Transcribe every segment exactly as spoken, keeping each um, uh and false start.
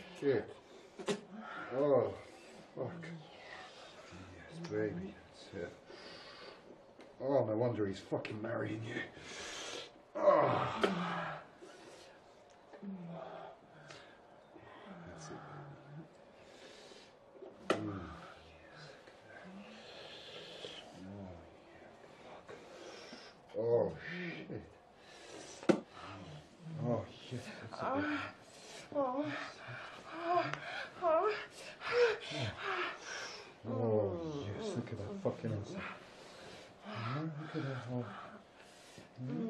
Shit. Oh, fuck. Yes, baby. That's it. Oh, no wonder he's fucking marrying you. Oh. That's it, baby. Mm. Oh, shit. Oh, yes, that's it. Oh. Oh, yes, look at that fucking ass. Oh, look at that. Oh, mm.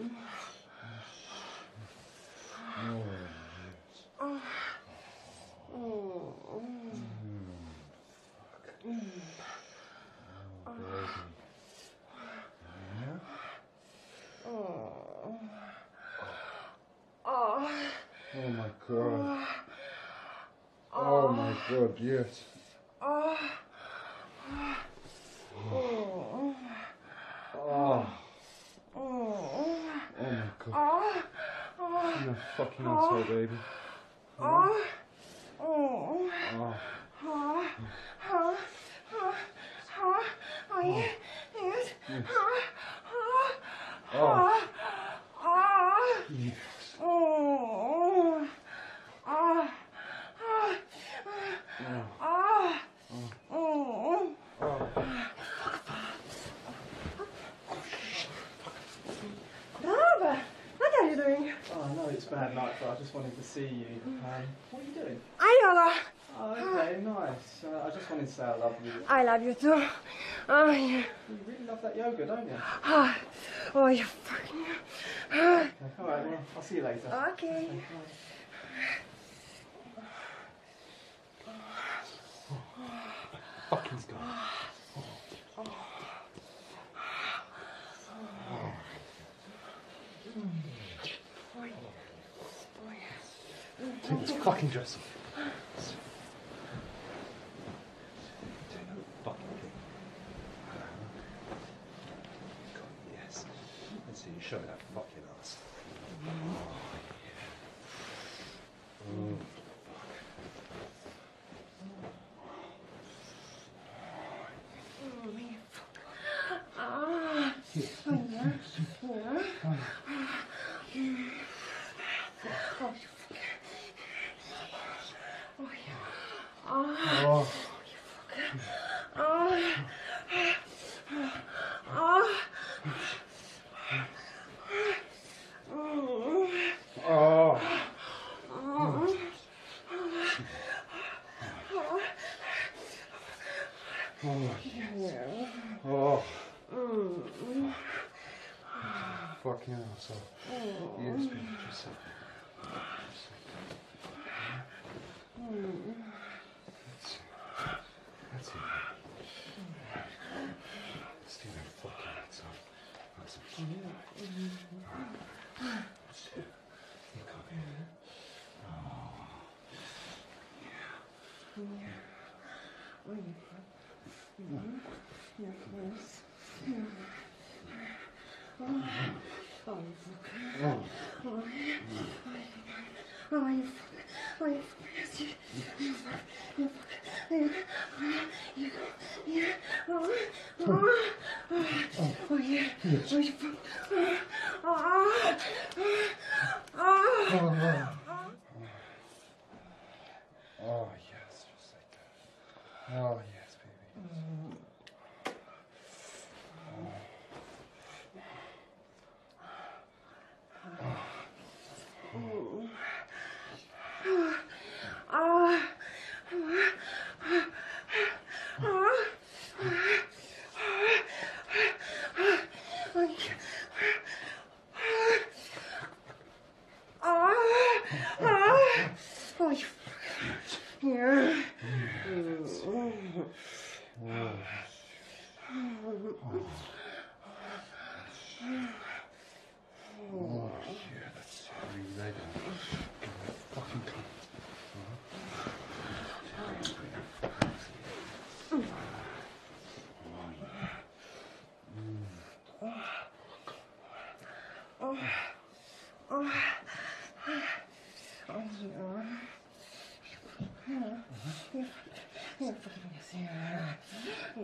Oh, yes. Oh, mm. Fuck. Oh, baby. Yeah? Oh. Oh. Oh my god. Oh my god, yes. Oh. Oh. Oh. Oh my god. You're a fucking asshole, baby. Oh. Oh. Oh. Oh. Oh. Oh. Oh, yeah. Yes. Yes. Oh. Oh. Oh. Oh. Yes. Oh. Oh. Oh. Oh. Oh. Oh. Robert, what are you doing? Oh, I know it's bad night, but I just wanted to see you. Um, what are you doing? Ayola. Oh, okay, nice. Uh, I just wanted to say I love you. I love you too. Oh, yeah. You really love that yoga, don't you? Oh, oh you fucking... Okay, alright, well, I'll see you later. Okay. Okay, bye. Fucking Scott. Take this fucking dress off. Do no fucking thing. God, yes. Let's see you show that fucking ass. Oh, yeah. Oh, Ah, here. oh, yeah. Yeah. Oh, you fucker. Oh, yeah. Ah. Oh. Ah. Ah. Oh. Oh, yes. Oh. Mm. Fucking asshole. Yes, baby, just sit there. That's it. That's it. Let's do that fucking lights off. That's it. That's it. You come here. Oh. Yeah. Oh, you fuck. Mm-hmm. Your face. Mm. Oh, oh, you fuck. Oh. Oh, yeah. Oh, you fuck. Oh, you fuck. Yes, you, you fuck. You fuck. You, you, yeah. Oh, oh, oh, oh, yeah. Oh, you fuck. Oh, oh, oh, oh. Oh, yes, just like that. Oh, yes, baby. Mm. Oh, you yeah. Oh, yeah, that's really right. Fucking cunt.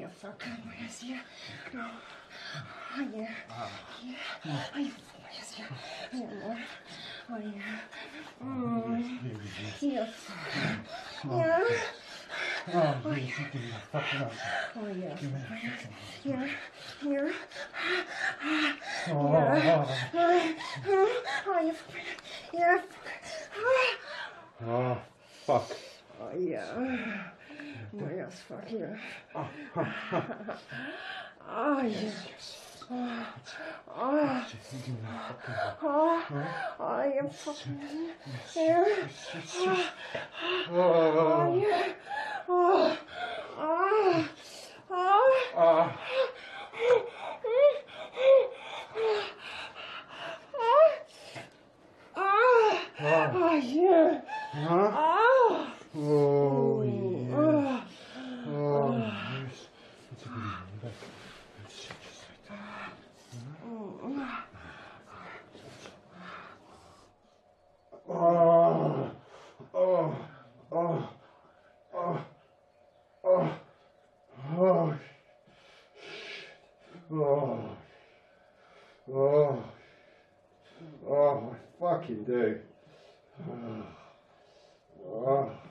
you fucking yes, yeah. Oh, yeah. Yeah. Oh, you yes, yeah. Yeah, more. Oh, yeah. Mm. Yes. Yeah. Oh, yes, you give me a fucking answer. Oh, yeah. Give me a fucking answer. Yeah. Yeah. Oh, Yeah. oh, Oh, you yeah. oh, fuck. Oh, yeah. Oh, yes, fuck yeah. Oh, yes. Oh, oh, Give me a fucking oh, oh, you fucking yeah. Oh, Oh, yeah. Oh, oh, oh. ah. Oh, yeah. Huh? Oh, Oh, yes. oh, Oh, yes. It's a good one. Back. Shit, just like that. Oh, oh, oh, oh, oh, oh, oh, oh, oh, I fucking do. Oh, oh.